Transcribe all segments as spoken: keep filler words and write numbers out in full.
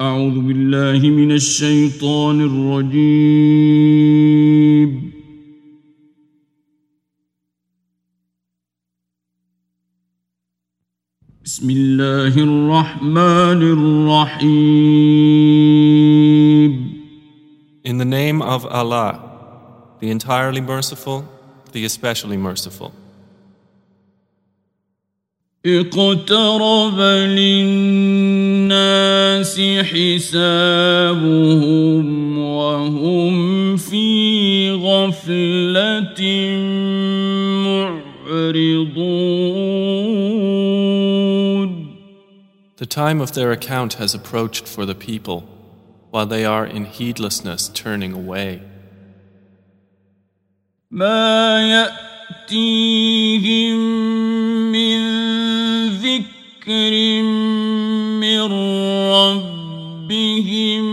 أعوذ بالله من الشيطان الرجيم. بسم الله الرحمن الرحيم. In the name of Allah, the entirely merciful, the especially merciful. اقترب للناس حسابهم وهم في غفلة معرضون. The time of their account has approached for the people, while they are in heedlessness turning away. ما يأتيهم من ذكر من ربهم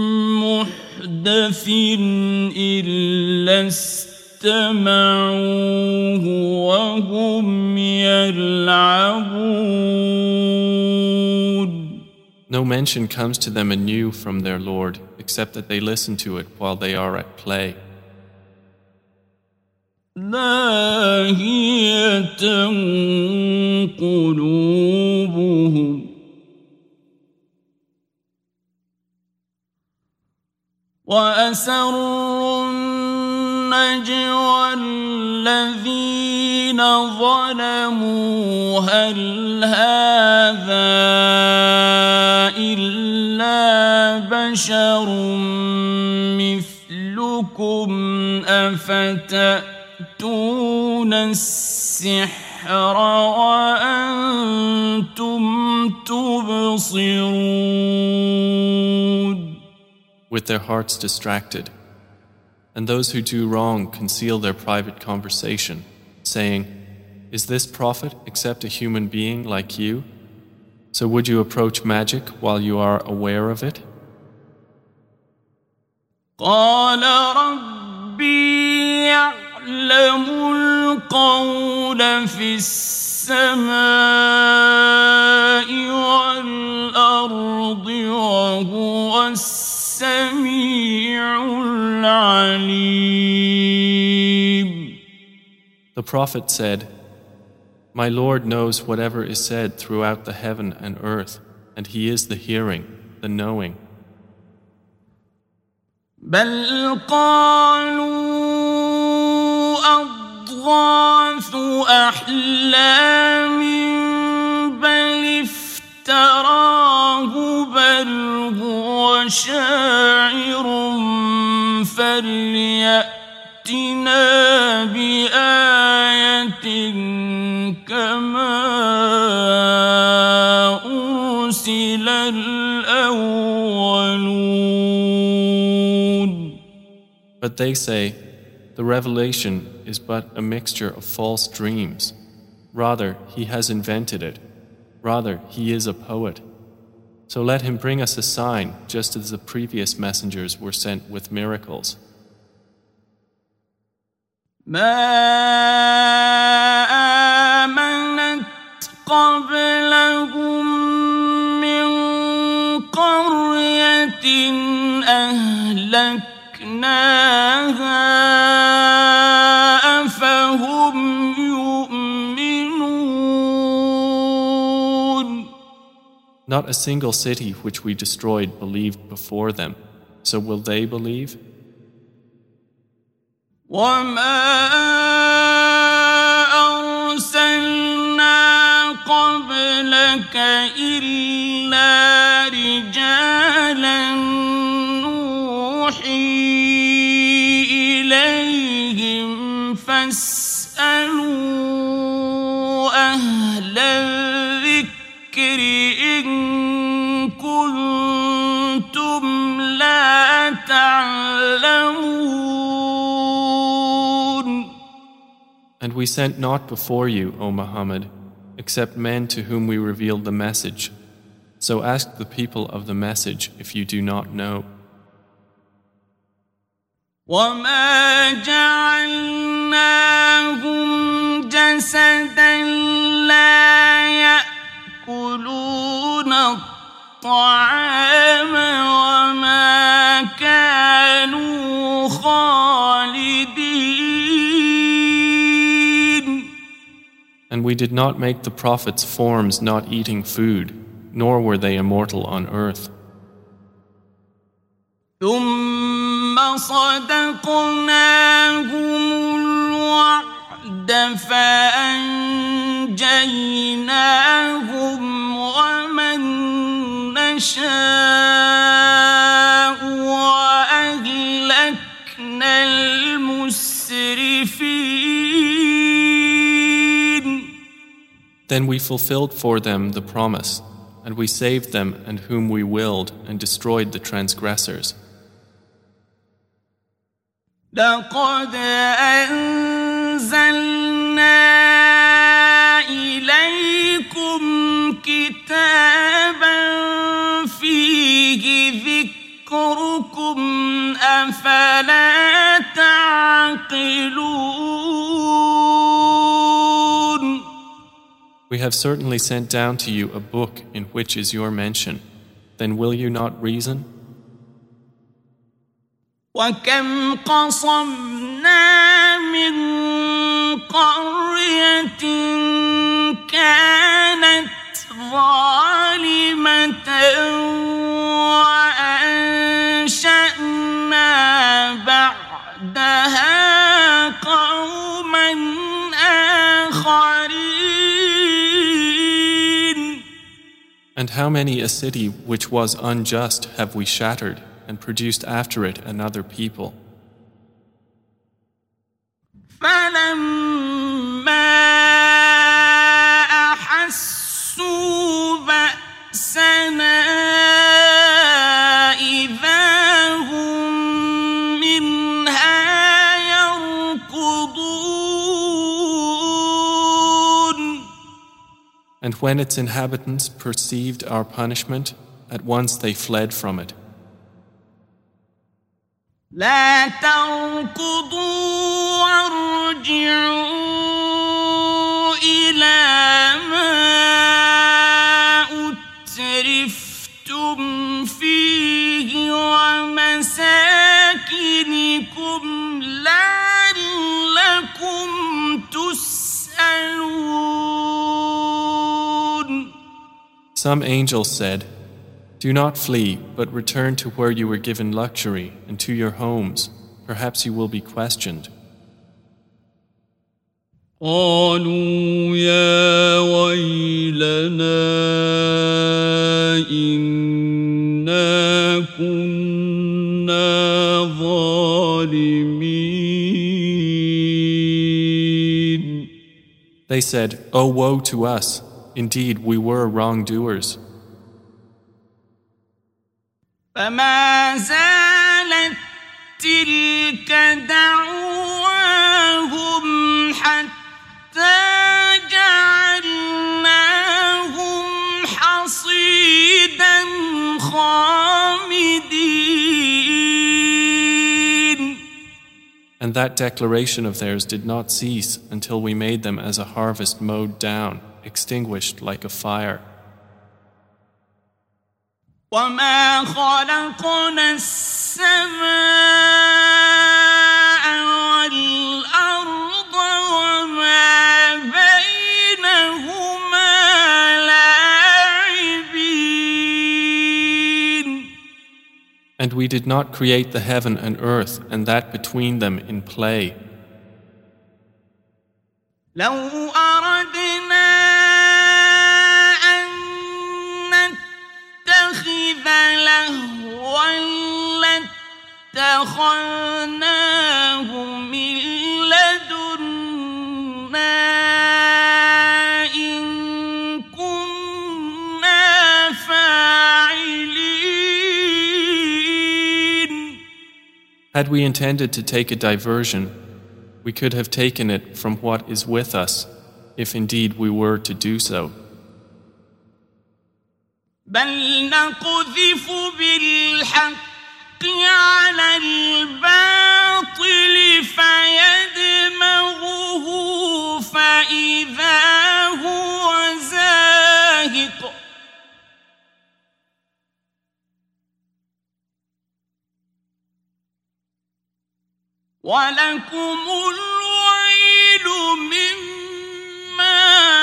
محدث إلا استمعوه وهم يلعبون. No mention comes to them anew from their Lord, except that they listen to it while they are at play. لاهية قلوبهم وأسروا النجوى الذين ظلموا هل هذا إلا بشر مثلكم أفتأتون السحر وأنتم تبصرون. With their hearts distracted, and those who do wrong conceal their private conversation, saying, "Is this prophet except a human being like you? So would you approach magic while you are aware of it?" قال ربي يعلم القول في السماء والأرض وهو السميع العليم. The prophet said, "My Lord knows whatever is said throughout the heaven and earth, and He is the hearing, the knowing." بل قالوا أضغاث أحلام بل افتراه بل هو شاعر فليأتنا بآية كما أرسل الأولون. But they say, the revelation is but a mixture of false dreams. Rather, he has invented it. Rather, he is a poet. So let him bring us a sign, just as the previous messengers were sent with miracles. ما آمنت قبلهم من قرية أهلكناها أفهم يؤمنون. Not a single city which we destroyed believed before them. So will they believe? وما أرسلنا قبلك إلا رجالا نوحي إليهم فاسألوا أهل الذكر إن كنتم لا تعلمون. And we sent not before you, O Muhammad, except men to whom we revealed the message. So ask the people of the message if you do not know. وما جعلناهم جسدا لا يأكلون الطعام And we did not make the prophets forms not eating food, nor were they immortal on earth. ثم صدقناهم الوعد فأنجيناهم ومن نشاء وأهلكنا المسرفين. Then we fulfilled for them the promise, and we saved them and whom we willed and destroyed the transgressors. لقد أنزلنا إليكم كتابا فيه ذكركم أفلا تعقلون. We have certainly sent down to you a book in which is your mention. Then will you not reason? وكم قصمنا من قرية كانت ظالمة وأنشأنا بعدها قوما آخرين. And how many a city which was unjust have we shattered and produced after it another people. فلما أحسوا بأسنا إذا هم منها يركضون. And when its inhabitants perceived our punishment, at once they fled from it. لا تركضوا وارجعوا إلى ما أترفتم فيه ومساكنكم لعلكم تسألون. Some angels said, "Do not flee, but return to where you were given luxury and to your homes. Perhaps you will be questioned." قالوا يا ويلنا إنا كنا ظالمين. They said, "Oh, woe to us! Indeed, we were wrongdoers." فما زالت تلك دعواهم حتى جعلناهم حصيدا خامدين. And that declaration of theirs did not cease until we made them as a harvest mowed down, extinguished like a fire. وما خلقنا السماء والأرض وما بينهما لاعبين. And we did not create the heaven and earth and that between them in play. لو أردنا لهوا لاتخذناه من لدنا إن كنا فاعلين. Had we intended to take a diversion, we could have taken it from what is with us, if indeed we were to do so. بل نقذف بالحق على الباطل فيدمغه فإذا هو زاهق. ولكم الويل مما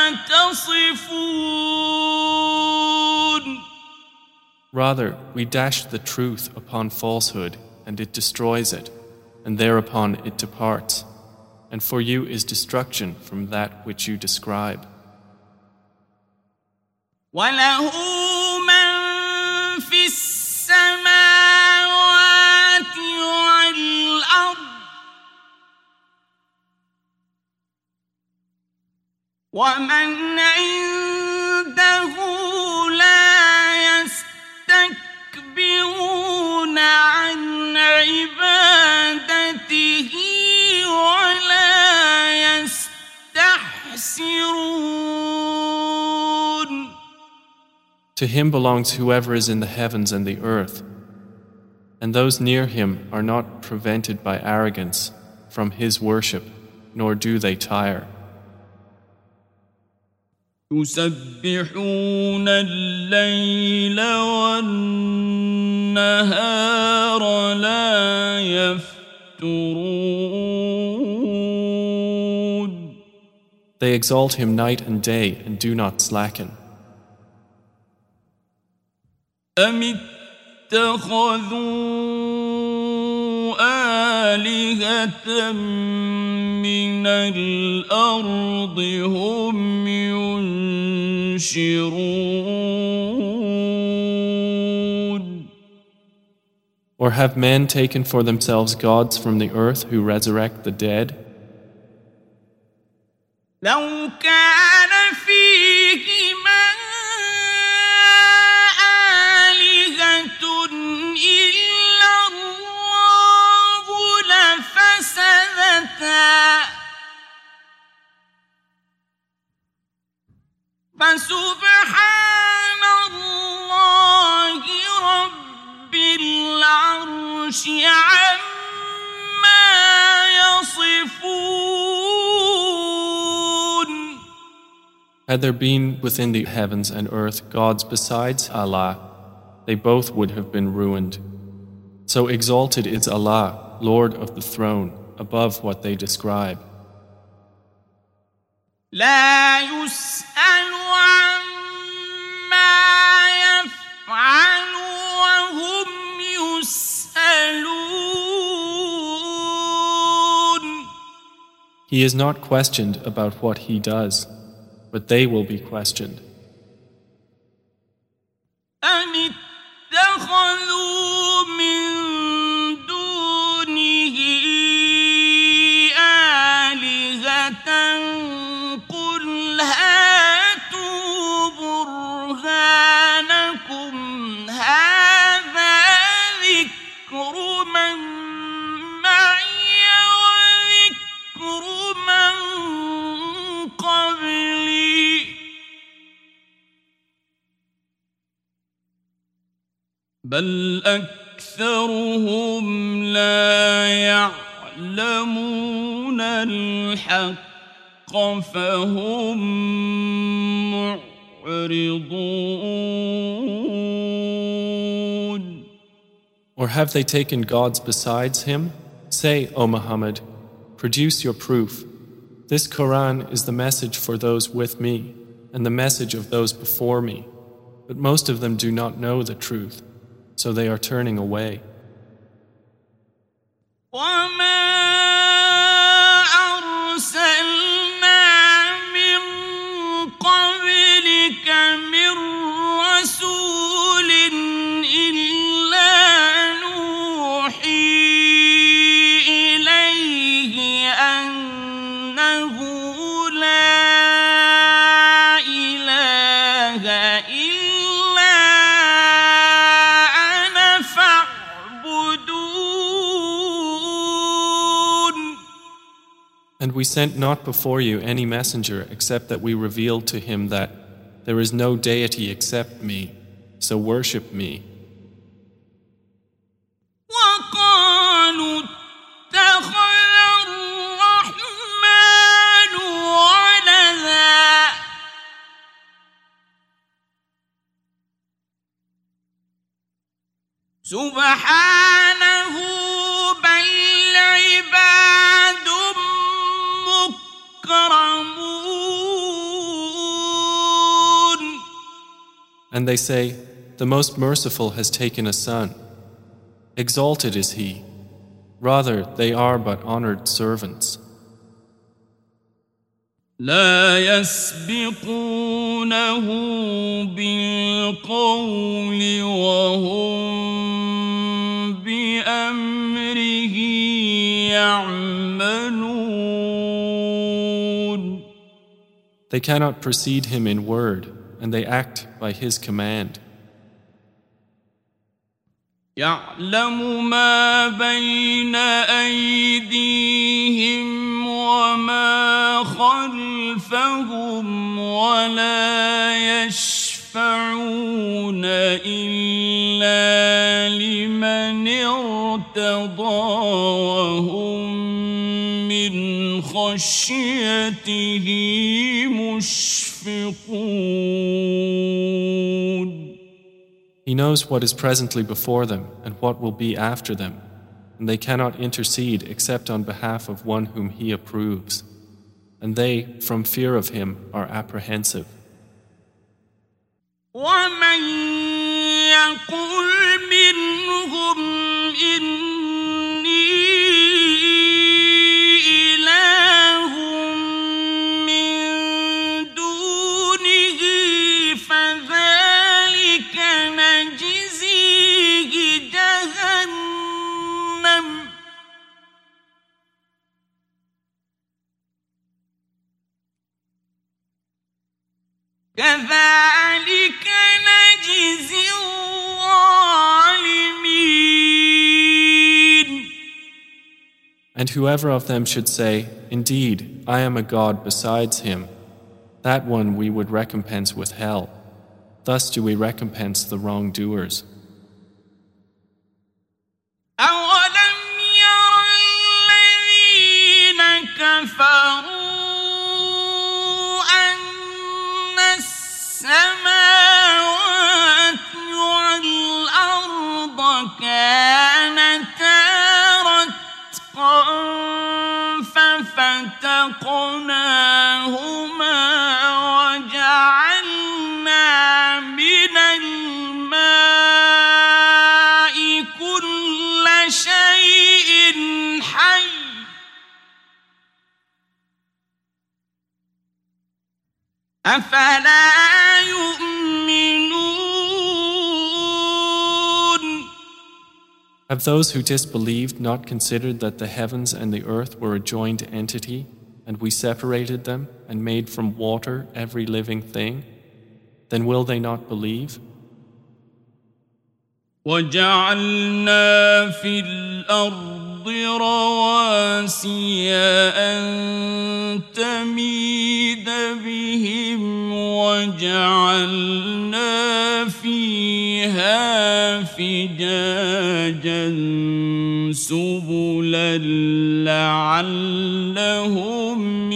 يصفون. Rather, we dash the truth upon falsehood, and it destroys it, and thereupon it departs. And for you is destruction from that which you describe. وَلَهُ مَن فِي السَّمَاوَاتِ وَالْأَرْضِ وَمَنْ عِندَهُ لَا يَسْتَكْبِرُونَ عَنْ عِبَادَتِهِ وَلَا يَسْتَحْسِرُونَ. To him belongs whoever is in the heavens and the earth, and those near him are not prevented by arrogance from his worship, nor do they tire. يسبحون الليل والنهار لا يفترون. They exalt him night and day and do not slacken. أم اتخذوا آلهة من الأرض هم ينشرون. Or have men taken for themselves gods from the earth who resurrect the dead? لو كان فيهما فسبحان الله رب العرش عما يصفون. Had there been within the heavens and earth gods besides Allah, they both would have been ruined. So exalted is Allah, Lord of the throne, above what they describe. لا يسأل عما يفعل وهم يسألون. He is not questioned about what he does, but they will be questioned. أم اتخذوا من دونه آلهة قل هاتوا برهانكم هذا ذكر من معي وذكر من قبلي بل أكثرهم لا يعلمون الحق فهم معرضون. Or have they taken gods besides him? Say, O Muhammad, produce your proof. This Quran is the message for those with me and the message of those before me, but most of them do not know the truth, so they are turning away. And we sent not before you any messenger except that we revealed to him that there is no deity except me, so worship me. سبحانه بل عباد مكرمون And they say, the Most Merciful has taken a son. Exalted is He. Rather, they are but honored servants. لا يسبقونه بالقول وهم بأمره يعملون. They cannot precede Him in word, and they act by His command. يعلم ما بين أيديهم وما خلفهم ولا يشفعون إلا لمن ارتضى وهم من خشيته مشفقون. He knows what is presently before them and what will be after them, and they cannot intercede except on behalf of one whom He approves, and they, from fear of Him, are apprehensive. وَمَن يَقُلْ مِنْهُمْ إِنِّي إِلَٰهٌ مِّن دُونِهِ فَذَلِكَ نَجْزِيهِ جَهَنَّمَ كَذَلِكَ نَجْزِي الظَّالِمِينَ. And whoever of them should say, indeed, I am a God besides Him, that one we would recompense with hell. Thus do we recompense the wrongdoers. أَوَلَمْ يَرَ الَّذِينَ كَفَرُوا أَنَّ السَّمَاوَاتِ وَالْأَرْضَ كَانَتَا رَتْقًا فَفَتَقْنَاهُمَا وَجَعَلْنَا مِنَ الْمَاءِ كُلَّ شَيْءٍ حَيٍّ أَفَلَا يُؤْمِنُونَ. Have those who disbelieved not considered that the heavens and the earth were a joined entity, and we separated them and made from water every living thing? Then will they not believe? وَجَعَلْنَا فِي الْأَرْضِ رَوَاسِيَ أَن تَمِيدَ بِهِمْ وَجَعَلْنَا فِيهَا فِجَاجًا سُبُلًا لَعَلَّهُمْ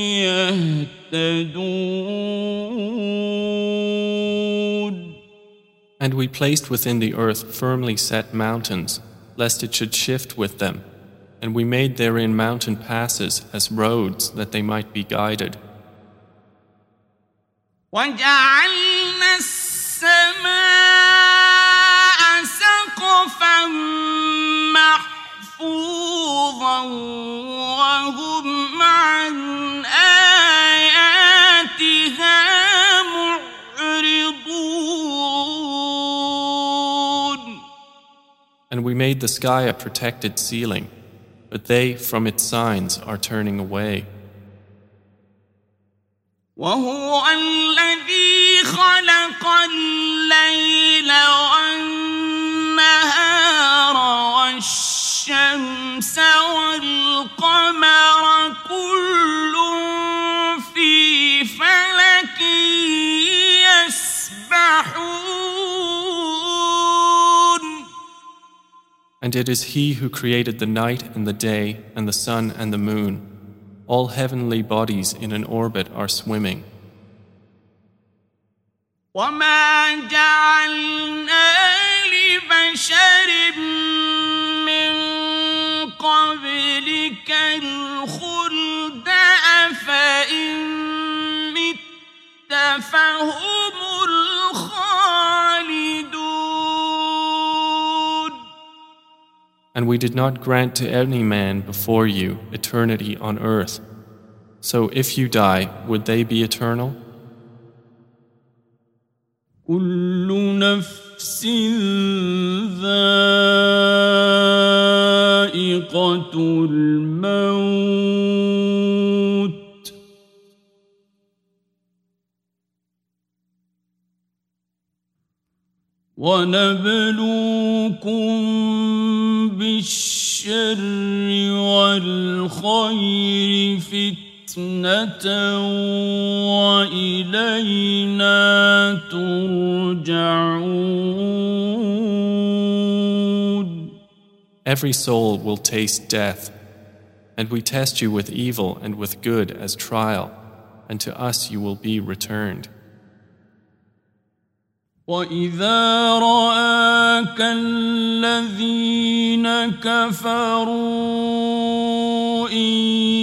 يَهْتَدُونَ. And we placed within the earth firmly set mountains, lest it should shift with them, and we made therein mountain passes as roads that they might be guided. وَجَعَلْنَا السَّمَاءَ سَقْفًا مَّحْفُوظًا وَهُمْ عَنْ آيَاتِهَا مُعْرِضُونَ. And we made the sky a protected ceiling, but they from its signs are turning away. وهو الذي خلق الليل والنهار والشمس والقمر كل في فلك يسبحون. And it is He who created the night and the day and the sun and the moon. All heavenly bodies in an orbit are swimming. وَمَا جَعَلْنَا لِبَشَرٍ مِّن قَبْلِكَ الْخُلْدَ أَفَإِن مِّتَّ فَهُمُ الْخَالِدُونَ. And we did not grant to any man before you eternity on earth. So if you die, would they be eternal? كل نفس ذائقة الموت ونبلوكم بالشر والخير فتنة وإلينا ترجعون. Every soul will taste death, and we test you with evil and with good as trial, and to us you will be returned. وَإِذَا رَآكَ الَّذِينَ كَفَرُوا إِن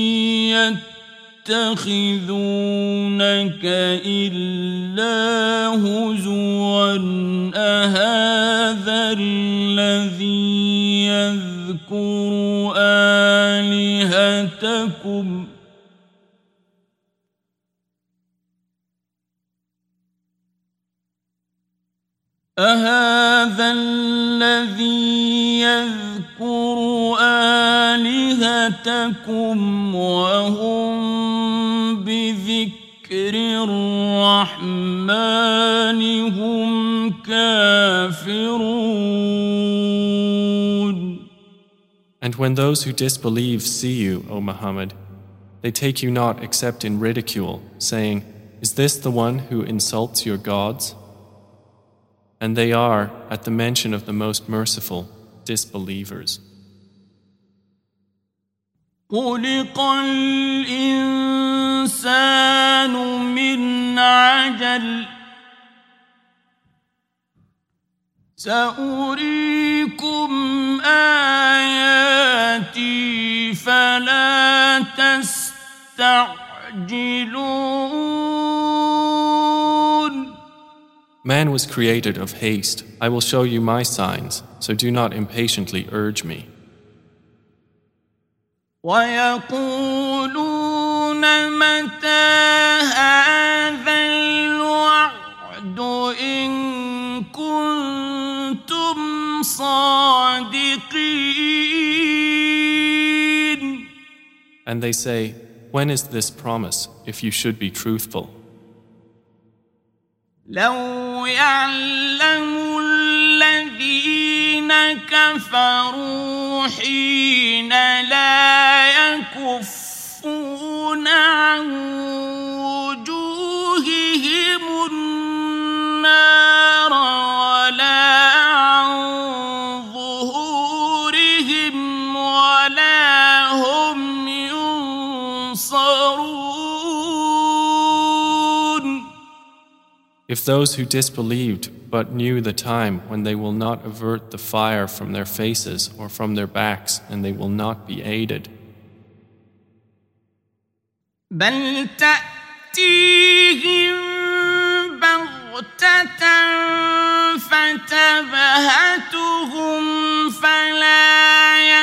يَتَّخِذُونَكَ إِلَّا هُزُوًا أَهَذَا الَّذِي يَذْكُرُ آلِهَتَكُمْ أهذا الذي يذكر آلهتكم وهم بذكر الرحمن هم كافرون. And when those who disbelieve see you, O Muhammad, they take you not except in ridicule, saying, "Is this the one who insults your gods?" And they are, at the mention of the Most Merciful, disbelievers. خُلِقَ الْإِنسَانُ مِنْ عَجَلٍ سَأُرِيكُمْ آيَاتِي فَلَا تَسْتَعْجِلُونَ. Man was created of haste. I will show you my signs, so do not impatiently urge me. وَيَقُولُونَ مَتَى هَذَا الْوَعْدُ إِن كُنتُمْ صَادِقِينَ. And they say, when is this promise, if you should be truthful? لو يعلم الذين كفروا حين لا يكفون عن وجوههم النار ولا عن ظهورهم ولا هم ينصرون. If those who disbelieved but knew the time when they will not avert the fire from their faces or from their backs, and they will not be aided. بل تأتيهم بغتة فتبهتهم فلا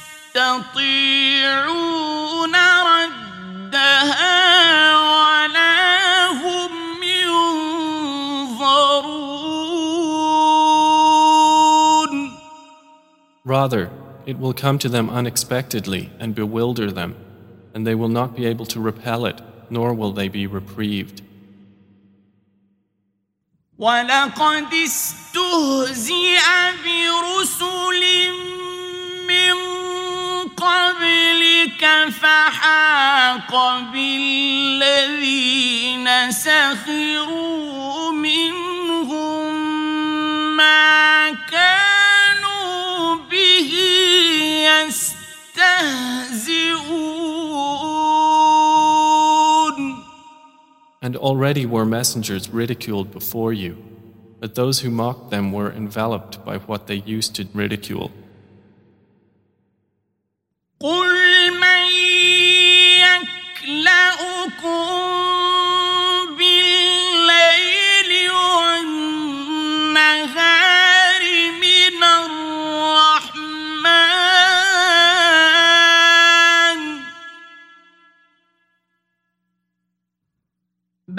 يستطيعون ردها ولا هم ينظرون. Rather, it will come to them unexpectedly and bewilder them, and they will not be able to repel it, nor will they be reprieved. وَلَقَدِ اسْتُهْزِئَ بِرُسُلٍ مِّن قَبْلِكَ فَحَاقَ بِالَّذِينَ سَخِرُوا مِنْهُم مَّا كَانُوا بِهِ يَسْتَهْزِئُونَ. And already were messengers ridiculed before you, but those who mocked them were enveloped by what they used to ridicule. قُلْ مَن يَكْلَؤُكُم بِاللَّيْلِ وَالنَّهَارِ مِنَ الرَّحْمَٰنِ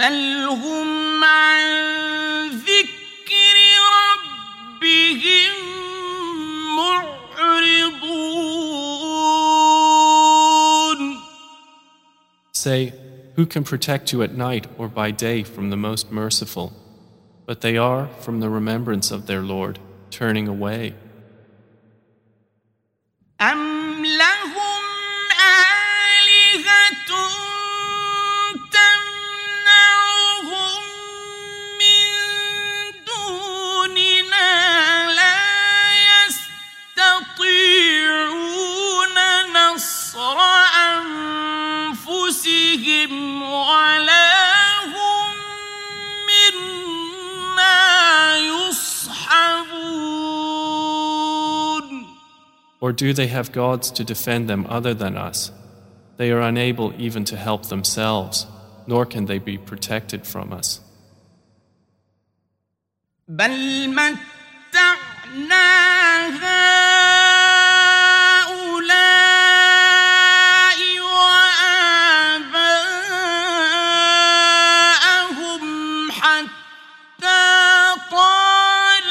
بل هم عن ذكر ربهم معرضون. Say, who can protect you at night or by day from the Most Merciful? But they are, from the remembrance of their Lord, turning away. أم لهم آلهة تمنعهم من دوننا لا يستطيعون نصر أنفسهم ولا هم منا يصحبون. Or do they have gods to defend them other than us? They are unable even to help themselves, nor can they be protected from us. بل متعنا هؤلاء وآباءهم حتى طال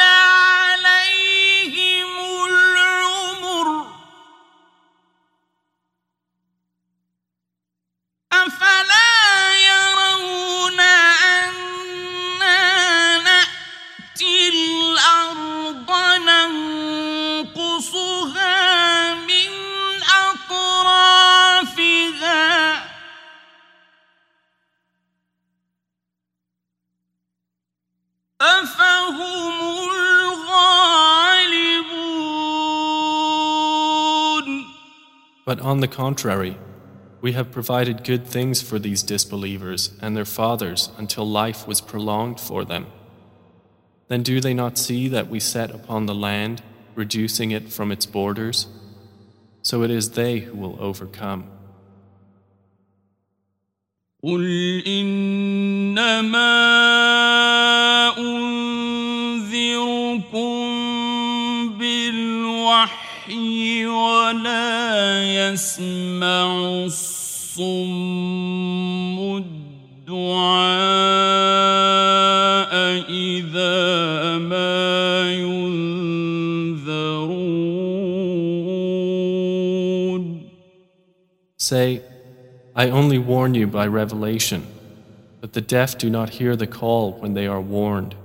عليهم العمر أفلا يرون أنا نأتي الأرض ننقصها من أطرافها أفهم الغالبون. But on the contrary, we have provided good things for these disbelievers and their fathers until life was prolonged for them. Then do they not see that we set upon the land, reducing it from its borders? So it is they who will overcome. قل إنما أنذركم بالوحي ولا يسمع الصم الدعاء إذا ما ينذرون. Say, I only warn you by revelation, but the deaf do not hear the call when they are warned.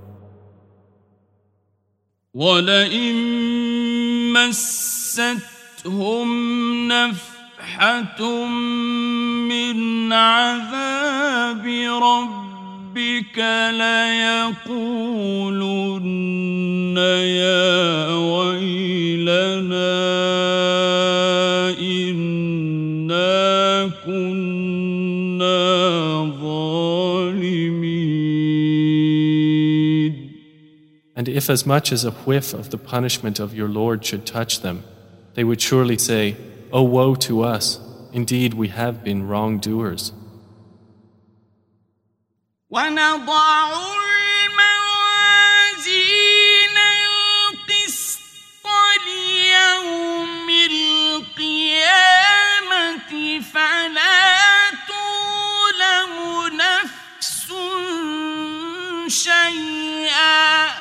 وَلَئِن مَّسَّتْهُمْ نَفْحَةٌ مِّنْ عَذَابِ رَبِّكَ لَيَقُولُنَّ يَا وَيْلَنَا إِنَّا كُنَّا ظَالِمِينَ. And if as much as a whiff of the punishment of your Lord should touch them, they would surely say, "O woe to us! Indeed, we have been wrongdoers." وَنَضَعُ الْمَوَازِينَ الْقِسْطَ لِيَوْمِ الْقِيَامَةِ فَلَا تُظْلَمُ نَفْسٌ شَيْئًا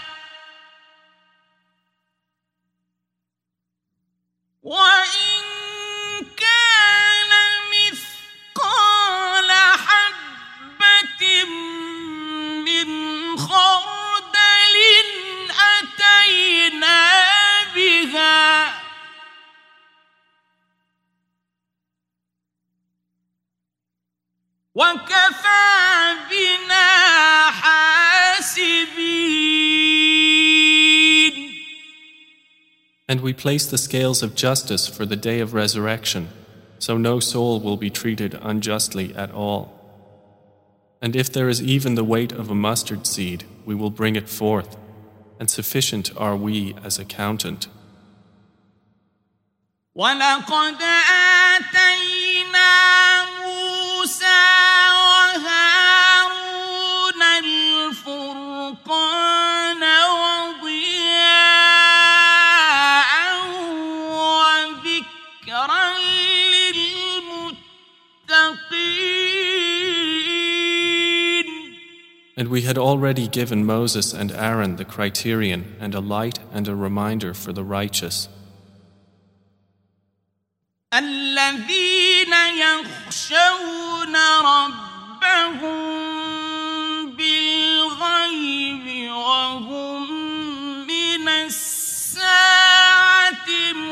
وَإِن كَانَ مِثْقَالَ حَبَّةٍ مِّنْ خَرْدَلٍ أَتَيْنَا بِهَا وَكَفَى بِنَا حَاسِبِينَ. And we place the scales of justice for the day of resurrection, so no soul will be treated unjustly at all. And if there is even the weight of a mustard seed, we will bring it forth, and sufficient are we as accountant. وَلَقَدْ آتَيْنَا مُوسَى وَهَارُونَ الْفُرْقَانَ وَضِيَاءً وَذِكْرًا لِلْمُتَّقِينَ. And we had already given Moses and Aaron the criterion and a light and a reminder for the righteous. الذين يخشون ربهم بالغيب وهم من الساعة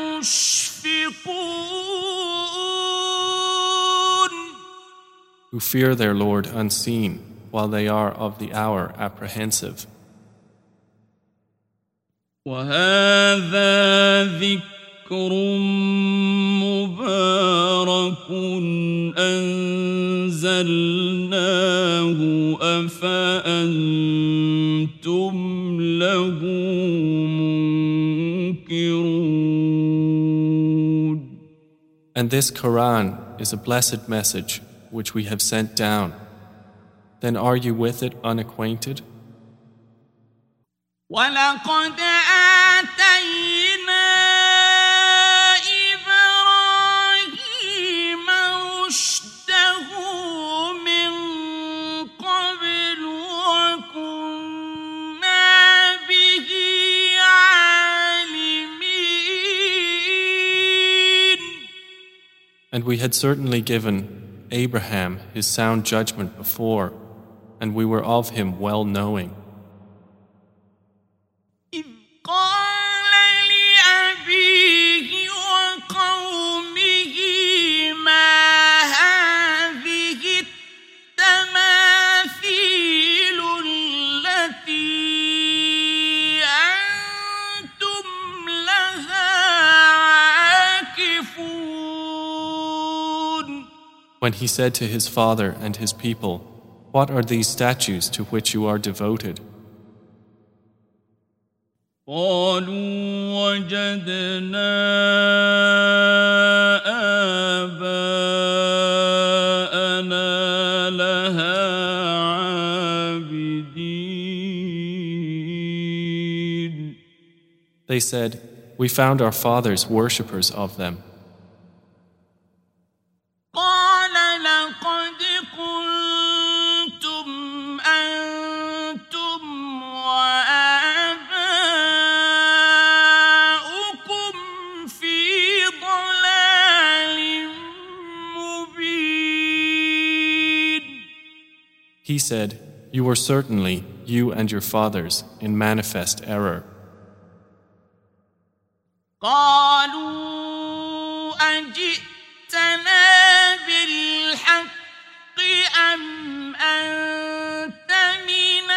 مشفقون. Who fear their Lord unseen, while they are of the hour apprehensive. وهذا ذكر مبارك أنزلناه أفأنتم له منكرون. And this Quran is a blessed message which we have sent down. Then are you with it unacquainted? وَلَقَدْ آتَيْنَا إِبْرَاهِيمَ رُشْدَهُ مِنْ قَبْلُ وَكُنَّا بِهِ عَالِمِينَ. And we had certainly given Abraham his sound judgment before, and we were of him well knowing. إِذْ قَالَ لِأَبِيهِ وَقَوْمِهِ مَا هَٰذِهِ التَّمَاثِيلُ الَّتِي أَنتُمْ لَهَا عَاكِفُونَ. When he said to his father and his people, "What are these statues to which you are devoted?" قالوا وجدنا آباءنا لها عابدين. They said, "We found our fathers worshippers of them." قال لقد كنتم أنتم وآباؤكم في ضلال مبين. He said, "You were certainly, you and your fathers, in manifest error." قالوا أجئتنا بالحق أم أنت من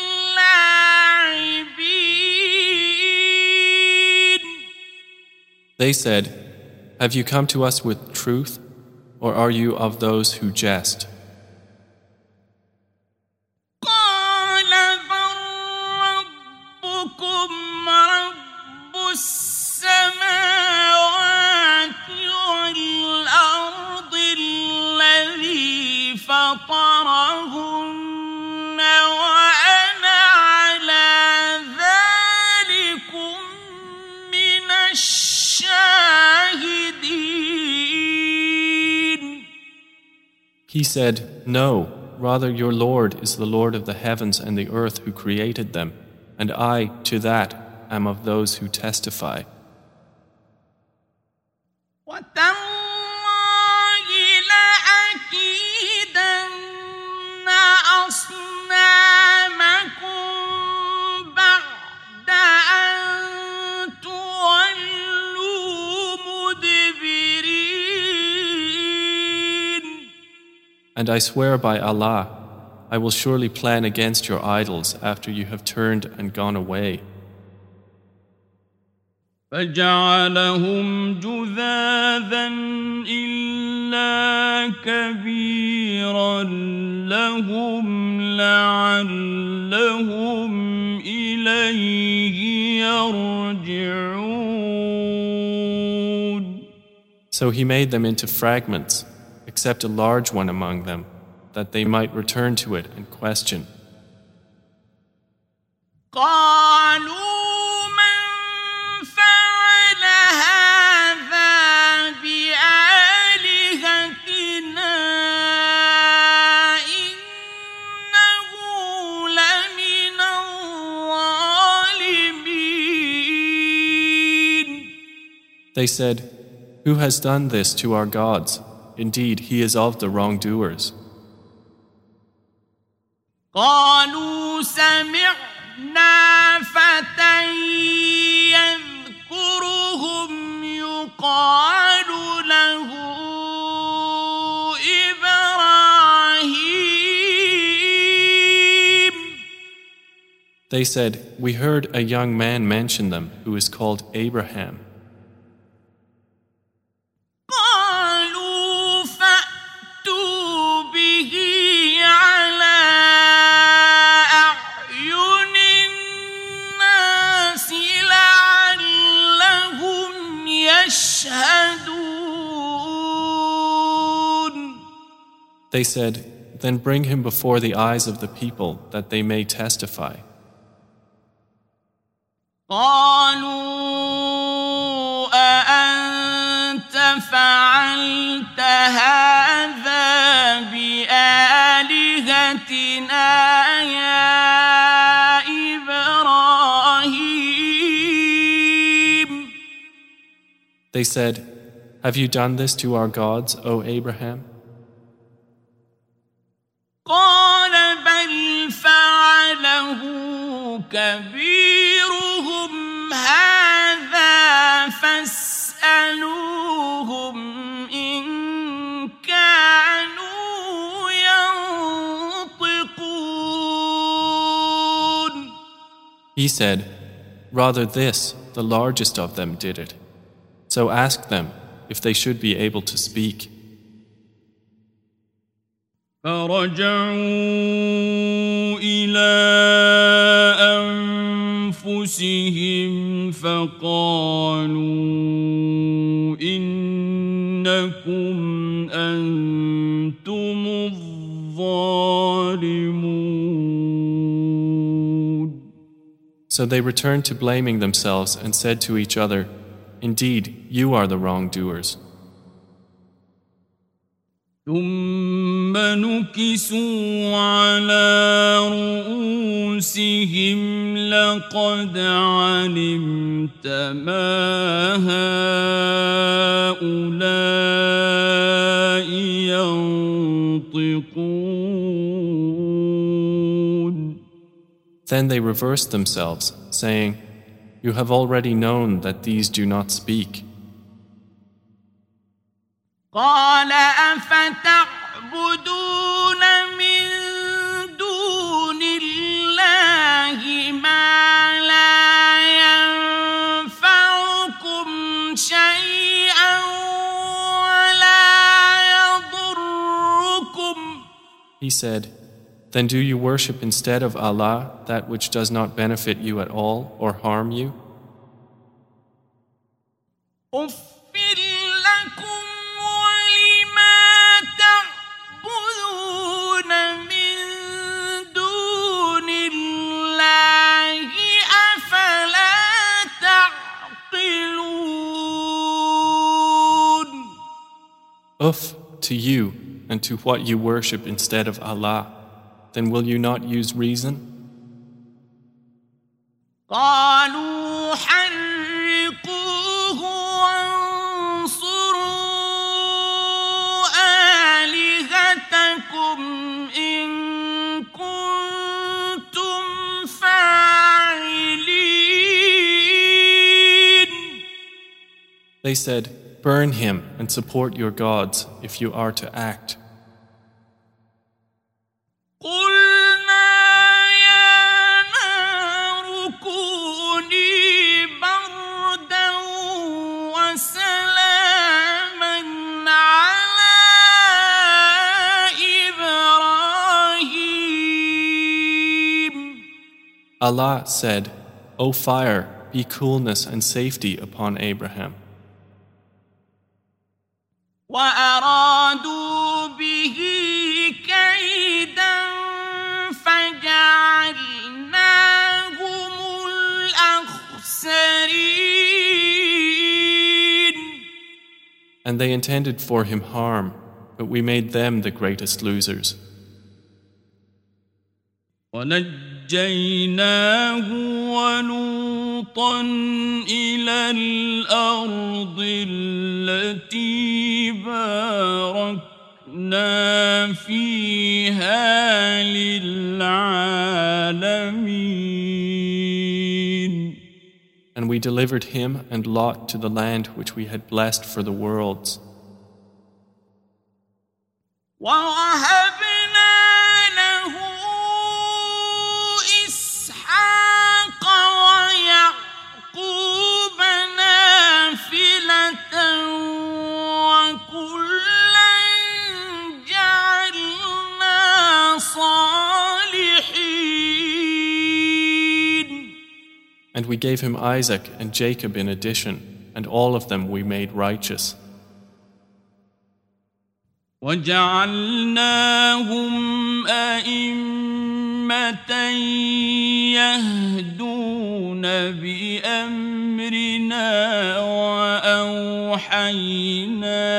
اللاعبين. They said, "Have you come to us with truth, or are you of those who jest?" قال بل ربكم رب السماوات والأرض الذي فطرهن وأنا على ذلكم من الشاهدين. He said, "No, rather your Lord is the Lord of the heavens and the earth who created them, and I, to that, am of those who testify." وَتَاللَّهِ لَأَكِيدَنَّ أَصْنَامَكُمْ بَعْدَ أَن تُوَلُّوا مُدْبِرِينَ. And I swear by Allah, I will surely plan against your idols after you have turned and gone away. فجعلهم جذاذا إلا كبيرا لهم لعلهم إليه يرجعون. So he made them into fragments, except a large one among them, that they might return to it and question. قالوا من فعل هذا بآلهتنا إنه They said, "Who has done this to our gods? Indeed, he is of the wrongdoers." قالوا سمعنا فتى يذكرهم يقال له إبراهيم. They said, "We heard a young man mention them who is called Abraham." قالوا فأتوا به على أعين الناس لعلهم يشهدون. They said, "Then bring him before the eyes of the people that they may testify." قالوا أأنت فعلت هذا بآلهتنا يا إبراهيم. They said, "Have you done this to our gods, O Abraham?" قال بل فعله كبيرهم هذا فاسألوهم إن كانوا ينطقون. He said, "Rather this, the largest of them did it. So ask them if they should be able to speak." فرجعوا إلى أنفسهم فقالوا إنكم أنتم الظالمون. So they returned to blaming themselves and said to each other, "Indeed, you are the wrongdoers." ثم نكسوا على رؤوسهم لقد علمت ما هؤلاء ينطقون. Then they reversed themselves, saying, "You have already known that these do not speak." قال أفتعبدون من دون الله ما لا ينفعكم شيئا ولا يضركم. He said, "Then do you worship instead of Allah that which does not benefit you at all or harm you?" Uff to you and to what you worship instead of Allah. Then will you not use reason? قالوا حرقوه وانصروا آلهتكم إن كنتم فاعلين. They said, "Burn him and support your gods if you are to act." Allah said, "O fire, be coolness and safety upon Abraham." وأرادوا به كيدا فجعلناهم الأخسرين. And they intended for him harm, but we made them the greatest losers. ونجيناه ونجيناه ولوطا إلى الأرض التي باركنا فيها للعالمين. And we delivered him and Lot to the land which we had blessed for the worlds. وَوَهَبْنَا لَهُ إِسْحَاقَ وَيَعْقُوبَ نَافِلَةً وَكُلًّا جَعَلْنَا صَالِحِينَ. And we gave him Isaac and Jacob in addition, and all of them we made righteous. وَجَعَلْنَاهُمْ أَئِمَّةً يَهْدُونَ بِأَمْرِنَا وَأَوْحَيْنَا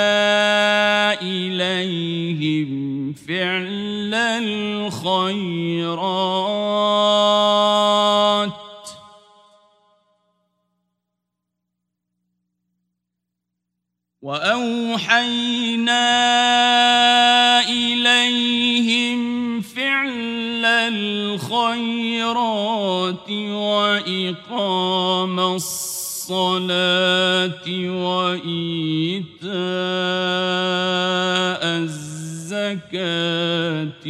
إِلَيْهِمْ فِعْلَ الْخَيْرَاتِ وَأَوْحَيْنَا إِلَيْهِمْ فِعْلَ الْخَيْرَاتِ وَإِقَامَ الصَّلَاةِ وَإِيتَاءَ الزَّكَاةِ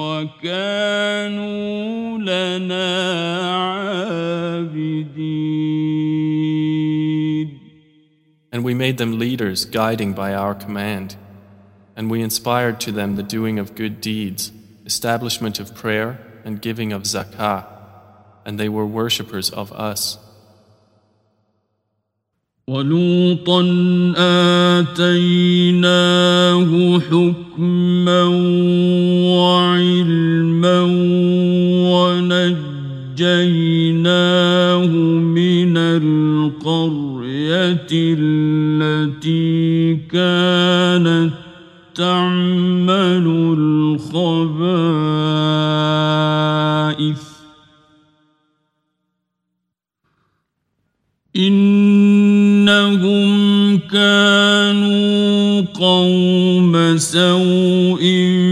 وَكَانُوا لَنَا عَابِدِينَ. And we made them leaders, guiding by our command. And we inspired to them the doing of good deeds, establishment of prayer, and giving of zakah. And they were worshippers of us. وَلُوطًا آتَيْنَاهُ حُكْمًا وَعِلْمًا وَنَجَّيْنَاهُ مِنَ الْقَرْيَةِ التي كانت تعمل الخبائث إنهم كانوا قوم سوء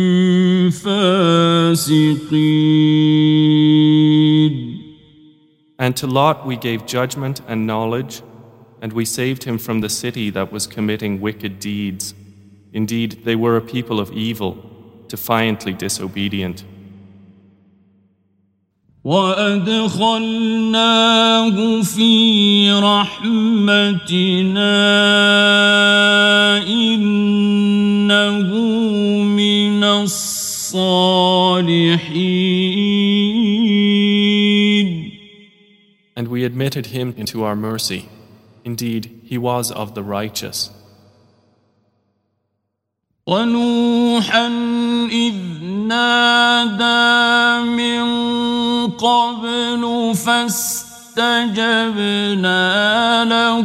فاسقين. And to Lot we gave judgment and knowledge, and we saved him from the city that was committing wicked deeds. Indeed, they were a people of evil, defiantly disobedient. وَأَدْخَلْنَاهُ فِي رَحْمَتِنَا إِنَّهُ مِنَ الصَّالِحِينَ. And we admitted him into our mercy. Indeed, he was of the righteous. وَنُوحًا إِذْ نَادَى مِن قَبْلُ فَاسْتَجَبْنَا لَهُ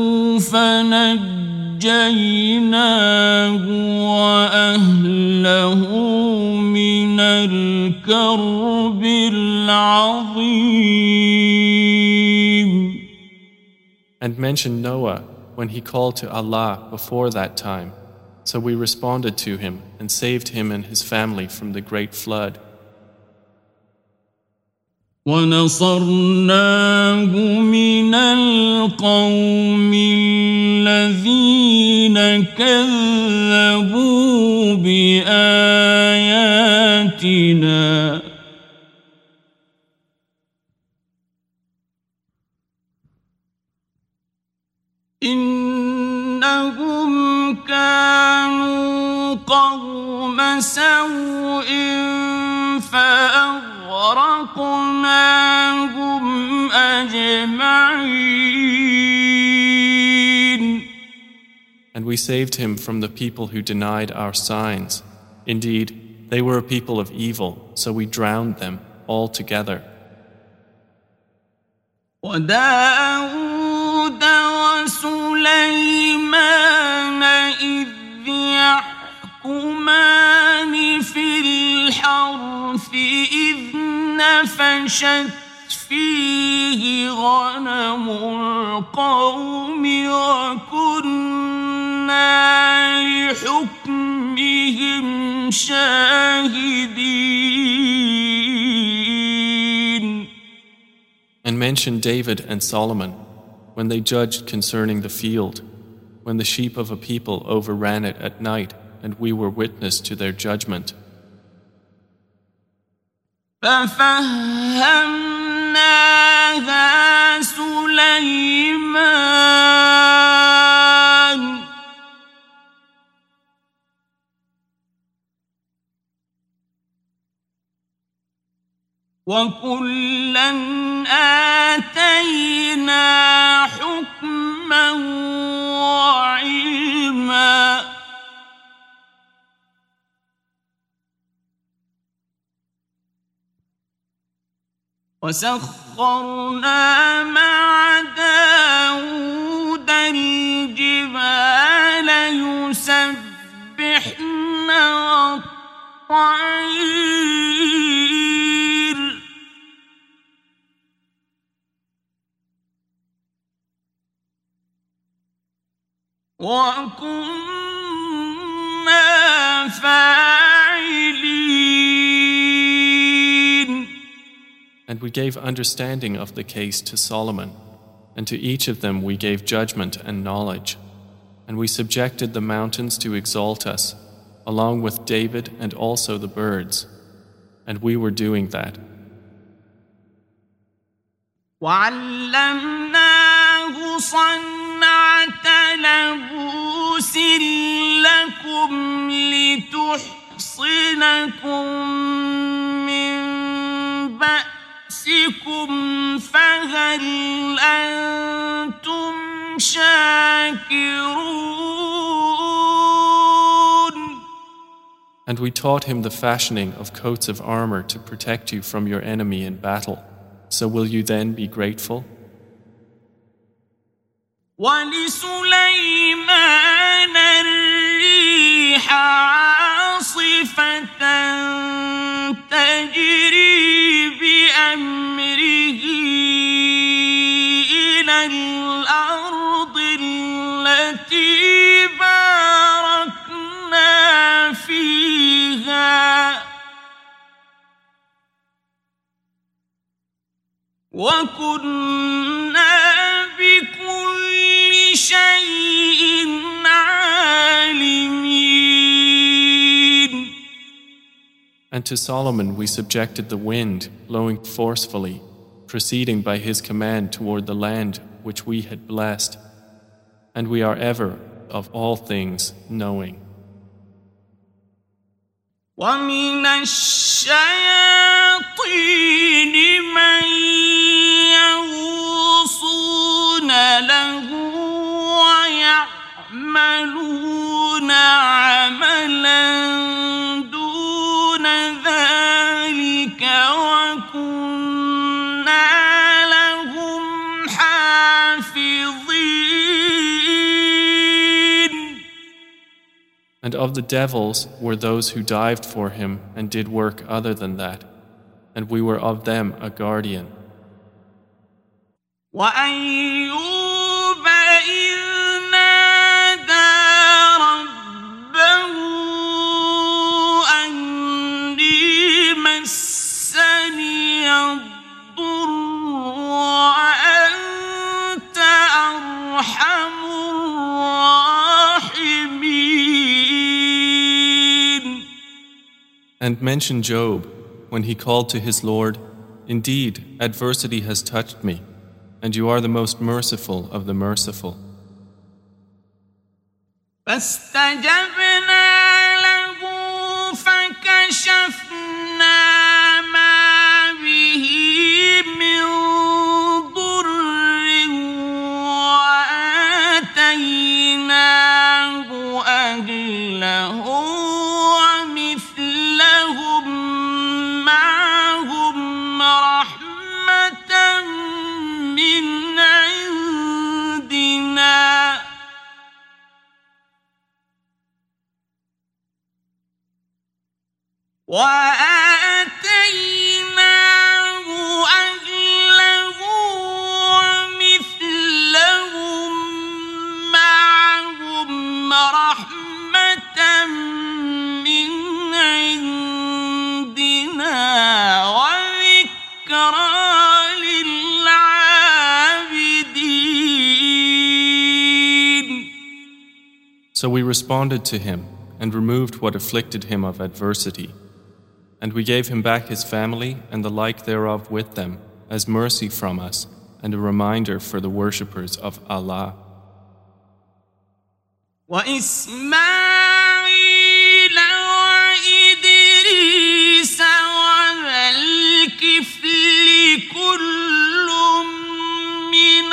فَنَجَّيْنَاهُ وَأَهْلَهُ مِنَ الْكَرْبِ الْعَظِيمِ. And mention Noah when he called to Allah before that time. So we responded to him and saved him and his family from the great flood. وَنَصَرْنَاهُ مِنَ الْقَوْمِ الَّذِينَ كَذَّبُوا بِآيَاتِنَا إِنَّهُمْ كانوا قوم سوء فأغرقناهم أجمعين. And we saved him from the people who denied our signs. Indeed, they were a people of evil, so we drowned them all together. وَدَاوُودَ وَسُلَيْمَانَ إِذْ يَحْكُمَانِ فِي الْحَرْثِ إِذْ نَفَشَتْ ففشت فيه غنم القوم وكنا لحكمهم شاهدين. And mention David and Solomon when they judged concerning the field, when the sheep of a people overran it at night, and we were witness to their judgment. فَفَهَّمْنَاهَا سُلَيْمَانَ وَكُلًّا آتَيْنَا حُكْمًا وَعِلْمًا وَسَخَّرْنَا مَعَ دَاوُودَ الْجِبَالَ يُسَبِّحْنَ وَالطَّيْرَ وَكُنَّا فَاعِلِينَ. And we gave understanding of the case to Solomon, and to each of them we gave judgment and knowledge. And we subjected the mountains to exalt us, along with David and also the birds. And we were doing that. وَعَلَّمْنَاهُ صَنْعَةَ لَبُوسٍ لَكُمْ لِتُحْصِنَكُم مِّن بَأْسِكُمْ فَهَلْ أَنتُمْ شَاكِرُونَ. And we taught him the fashioning of coats of armor to protect you from your enemy in battle. So will you then be grateful? وَلِسُلَيْمَانَ الرِّيحَ عَاصِفَةً تَجْرِي بِأَمْرِهِ إِلَى الْأَرْضِ الَّتِي بَارَكْنَا فِيهَا وَكُنَّا بِكُلِّ شَيْءٍ عَالِمِينَ. And to Solomon we subjected the wind, blowing forcefully, proceeding by his command toward the land which we had blessed. And we are ever, of all things, knowing. وَمِنَ الشَّيَاطِينِ مَن يَغُوصُونَ لَهُ وَيَعْمَلُونَ عَمَلًا دُونَ ذَلِكَ وَكُنَّا لَهُمْ حَافِظِينَ. And of the devils were those who dived for him and did work other than that, and we were of them a guardian. وَأَيُّوبَ إِذْ نَادَىٰ رَبَّهُ أَنِّي مَسَّنِيَ الضُّرُّ وَأَنتَ أَرْحَمُ الرَّاحِمِينَ. And mention Job when he called to his Lord, "Indeed, adversity has touched me, and you are the most merciful of the merciful." فَاسْتَجَبْنَا لَهُ فَكَشَفْنَا مَا بِهِ مِن ضُرٍّ وَآتَيْنَاهُ أَهْلَهُ وَمِثْلَهُم مَّعَهُمْ رَحْمَةً مِّنْ عِندِنَا وَآتَيْنَاهُ So we responded to him and removed what afflicted him of adversity. And we gave him back his family and the like thereof with them as mercy from us and a reminder for the worshippers of Allah. وإسماعيل وإدريس وذا الكفل كل من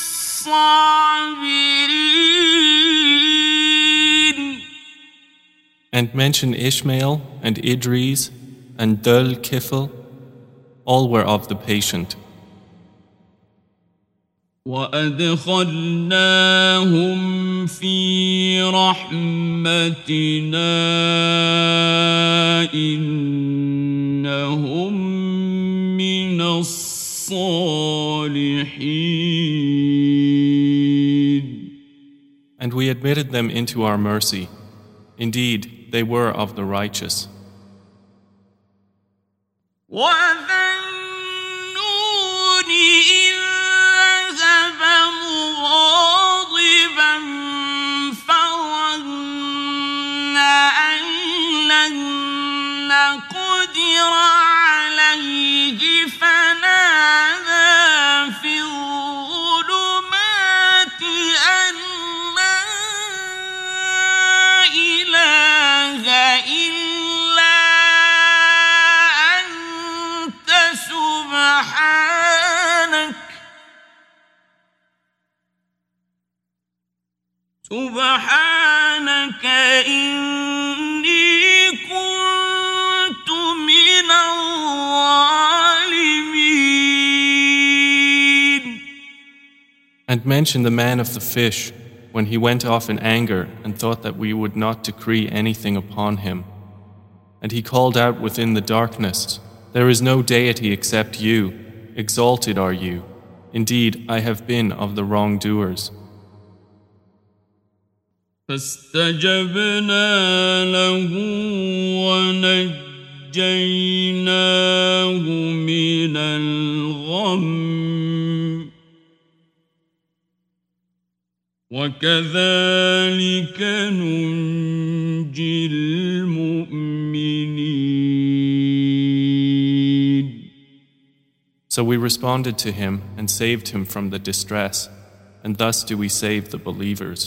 الصابرين. And mention Ishmael and Idris and Dhul Kifl, all were of the patient. وأدخلناهم في رحمتنا إنهم من الصالحين. And we admitted them into our mercy. Indeed, they were of the righteous. وَذَنُّونِ إِذْ ذَهَبَ مُغَاضِبًا فَظَنَّ أَن لَّن نَّقْدِرَ عَلَيْهِ فَنَادَىٰ فِي الظُّلُمَاتِ أَن لَّا إِلَٰهَ إِلَّا أَنتَ سُبْحَانَكَ سُبْحَانَكَ إِنِّي كُنتُ مِنَ الظَّالِمِينَ. And mention the man of the fish when he went off in anger and thought that we would not decree anything upon him. And he called out within the darkness, "There is no deity except you. Exalted are you. Indeed, I have been of the wrongdoers." فاستجبنا له ونجيناه من الغم وكذلك ننجي المؤمنين. So we responded to him and saved him from the distress, and thus do we save the believers.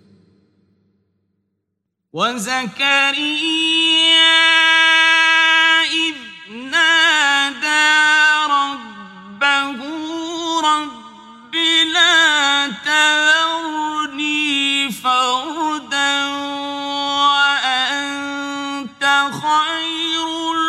وزكريا إذ نادى ربه رب لا تذرني فردا وأنت خير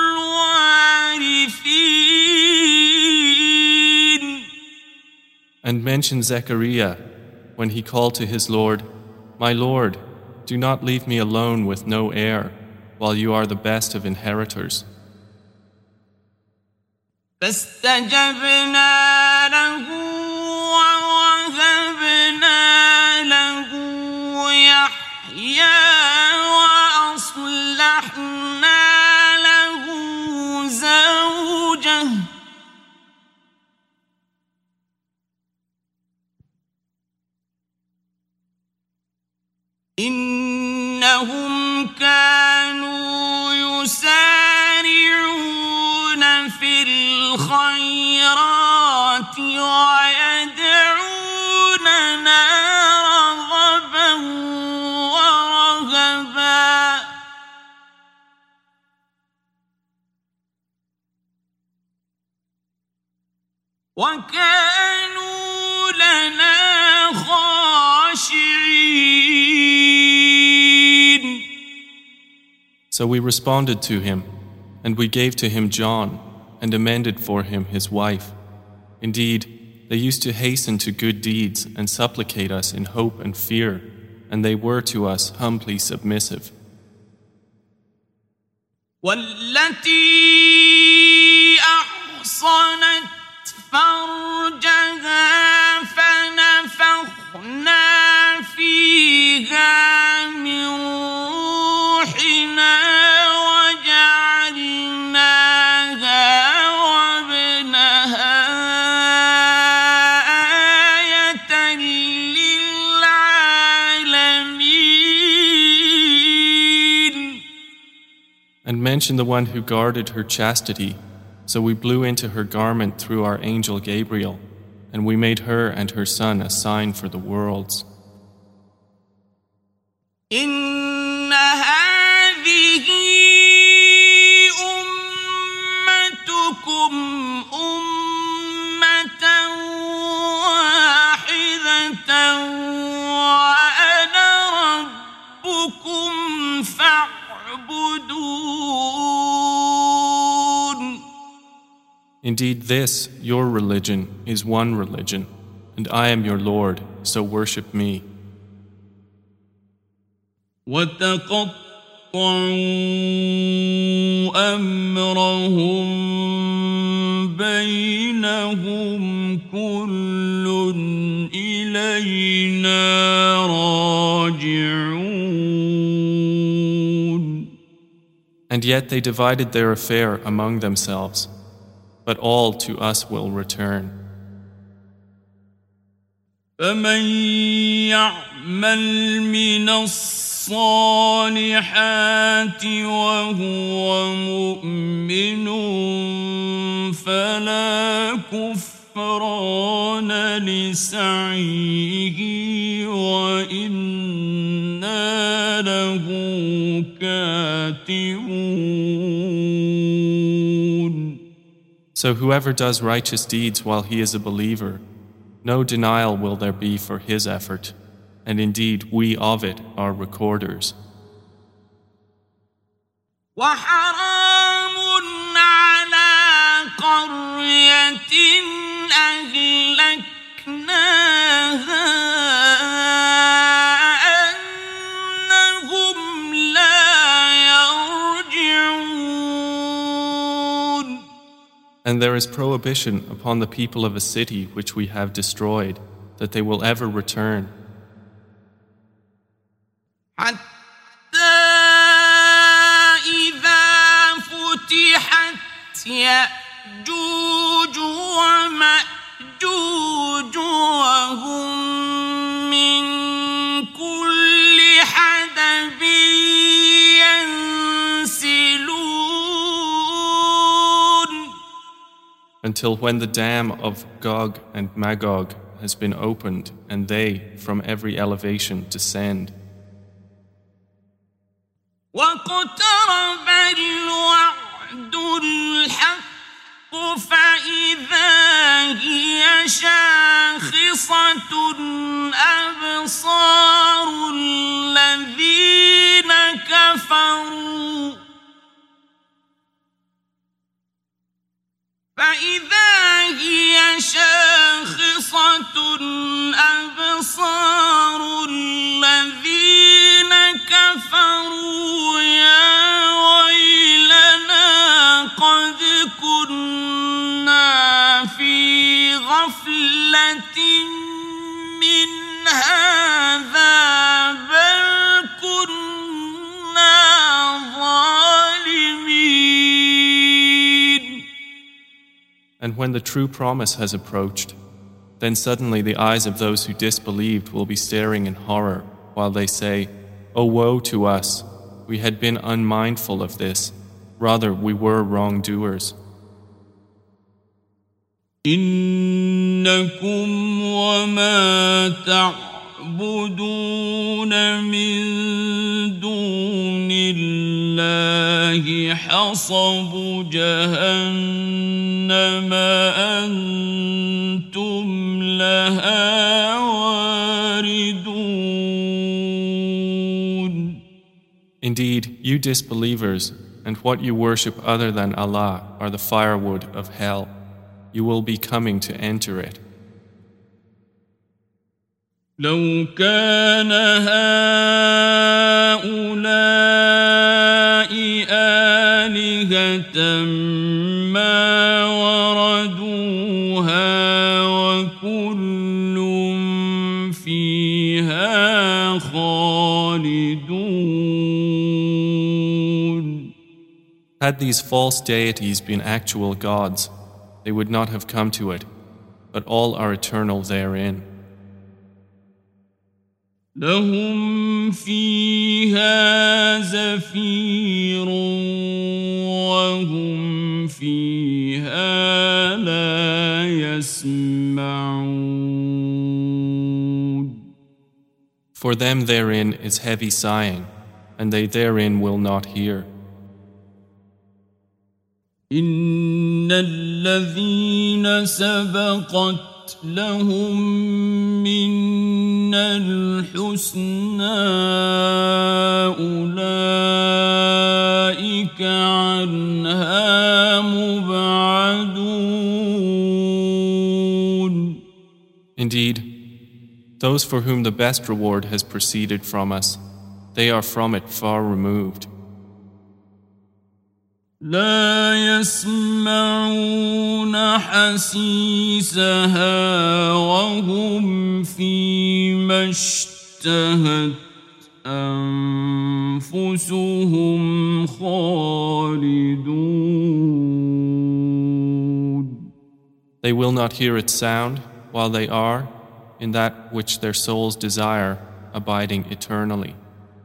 الوارثين. And mention Zechariah when he called to his Lord, "My Lord, do not leave me alone with no heir, while you are the best of inheritors." فاستجبنا له ووهبنا له يحيى وأصلحنا له زوجه إنهم كانوا يسارعون في الخيرات ويدعوننا رغبا ورهبا وكانوا لنا خاشعين. So we responded to him, and we gave to him John, and amended for him his wife. Indeed, they used to hasten to good deeds and supplicate us in hope and fear, and they were to us humbly submissive. والتي أحصنت فرجها فنفخنا فيها من روحنا وجعلناها وابنها آية للعالمين. mention the one who guarded her chastity. So we blew into her garment through our angel Gabriel, and we made her and her son a sign for the worlds. إن هذه أمتكم أمة واحدة وأنا ربكم فاعبدون. Indeed, this, your religion, is one religion, and I am your Lord, so worship me. وتقطعوا أمرهم بينهم كل إلينا راجعون. And yet they divided their affair among themselves, but all to us will return. فمن يعمل من الصالحات وهو مؤمن فلا كفران لسعيه وإنا له كاتبون. So whoever does righteous deeds while he is a believer, no denial will there be for his effort, and indeed we of it are recorders. وحرام على قرية أهلكناها أنهم لا يرجعون. And there is prohibition upon the people of a city which we have destroyed, that they will ever return. حتى إذا فتحت يأجوج ومأجوج وهم من كل حدب ينسلون. Until when the dam of Gog and Magog has been opened, and they, from every elevation, descend. واقترب الوعد الحق فإذا هي شاخصة أبصار الذين كفروا فإذا هي شاخصة أبصار الذين كفروا يا ويلنا قد كنا في غفلة من هذا بل كنا ظالمين. And when the true promise has approached, then suddenly the eyes of those who disbelieved will be staring in horror, while they say, "O woe to us! We had been unmindful of this. Rather, we were wrongdoers." إنكم وما تعبدون من دون الله حصب جهنم أنتم لها واردون. Indeed, you disbelievers and what you worship other than Allah are the firewood of hell. You will be coming to enter it. لو كان هؤلاء آلهة ما وردوها وكل فيها خالدون. Had these false deities been actual gods, they would not have come to it, but all are eternal therein. لهم فيها زفير فيها لا يسمعون. For them therein is heavy sighing, and they therein will not hear. إن الذين سبقت لهم منا الحسنى أولئك عنها مبعدون. Indeed, those for whom the best reward has proceeded from us, they are from it far removed. لا يسمعون حسيسها وهم فيما اشتهت أنفسهم خالدون. They will not hear its sound while they are in that which their souls desire, abiding eternally.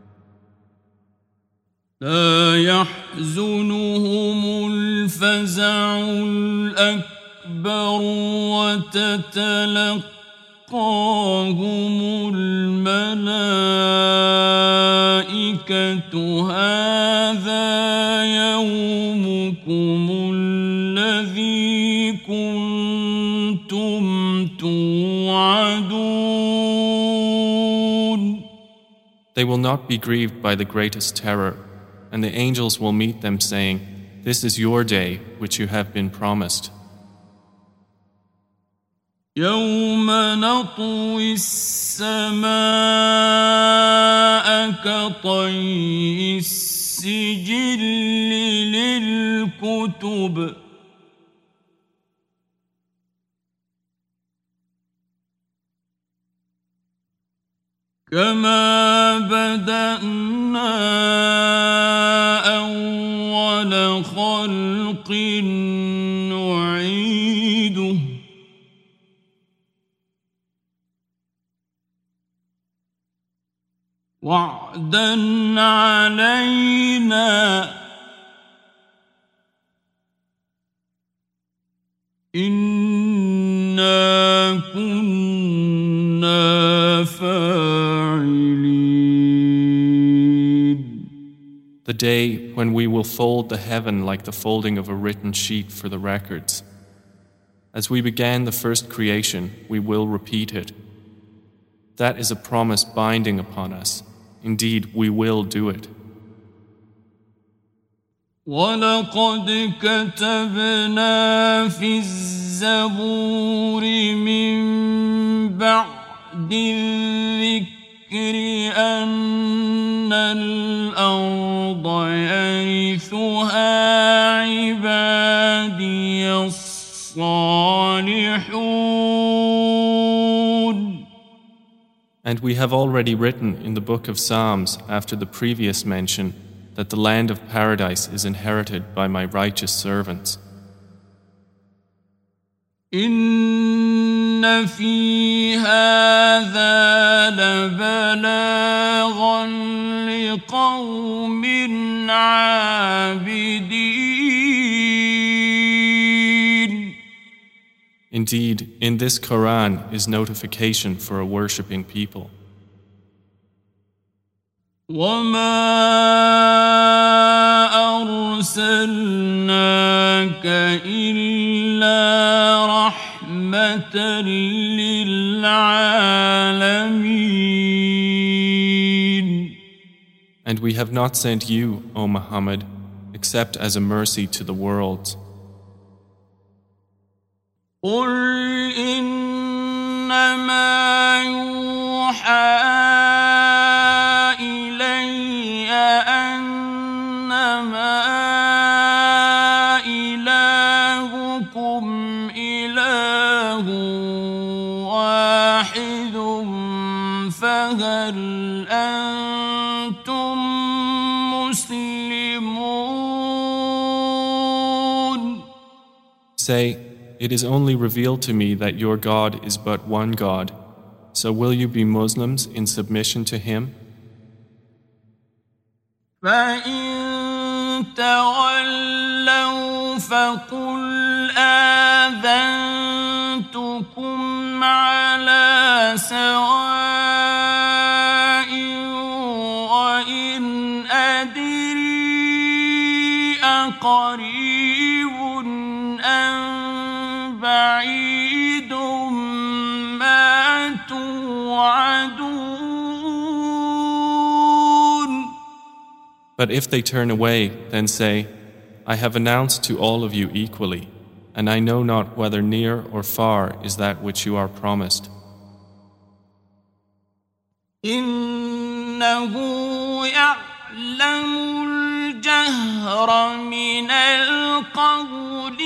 لا يحزنهم الفزع الأكبر وتتلقاهم الملائكة هذا يومكم الذي كنتم توعدون. They will not be grieved by the greatest terror, and the angels will meet them saying, "This is your day which you have been promised." يوم نطوي السماء كطي السجل للكتب كما بدأنا أول خلق نعيده وعدا علينا إنا كنا فاعلين. The day when we will fold the heaven like the folding of a written sheet for the records. As we began the first creation, we will repeat it. That is a promise binding upon us. Indeed, we will do it. وَلَقَدْ كَتَبْنَا فِي الزَّبُورِ مِن بَعْدِ الذِّكْرِ أَنَّ الْأَرْضَ يَرِثُهَا عِبَادِيَ الصَّالِحُونَ. And we have already written in the book of Psalms after the previous mention that the land of paradise is inherited by my righteous servants. إن في هذا لبلاغا لقوم عابدين. Indeed, in this Quran is notification for a worshipping people. وَمَا أَرْسَلْنَاكَ إِلَّا رَحْمَةً لِلْعَالَمِينَ. And we have not sent you, O Muhammad, except as a mercy to the worlds. قُلْ إِنَّمَا يُوحَىٰ فهل أنتم مسلمون. Say, it is only revealed to me that your God is but one God. So will you be Muslims in submission to Him? فإن تولوا فقل آذنتكم على سواء وإن أدري أقريب أم بعيد ما توعدون. But if they turn away, then say, I have announced to all of you equally, and I know not whether near or far is that which you are promised. إنه يعلم الجهر من القول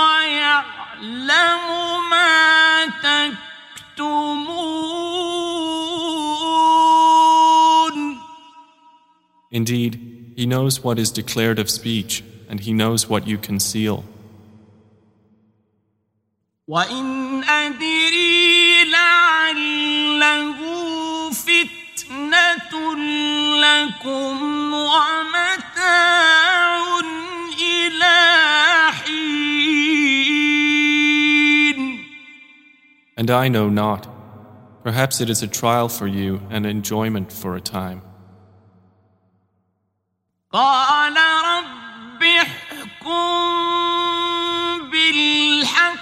ويعلم ما تكتمون. Indeed, He knows what is declared of speech, and He knows what you conceal. وَإِنْ أَدْرِي لَعَلَّهُ فِتْنَةٌ لَكُمْ وَمَتَاعٌ إِلَى حِينٍ. And I know not. Perhaps it is a trial for you and enjoyment for a time. قال رب احكم بالحق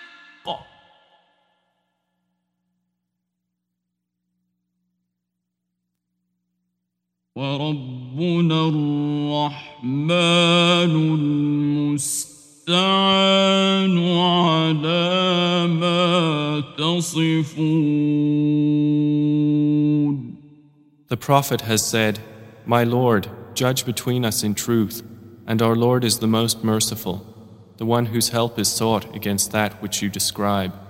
وربنا الرحمن المستعان على ما تصفون. The Prophet has said, My Lord, judge between us in truth, and our Lord is the most merciful, the one whose help is sought against that which you describe.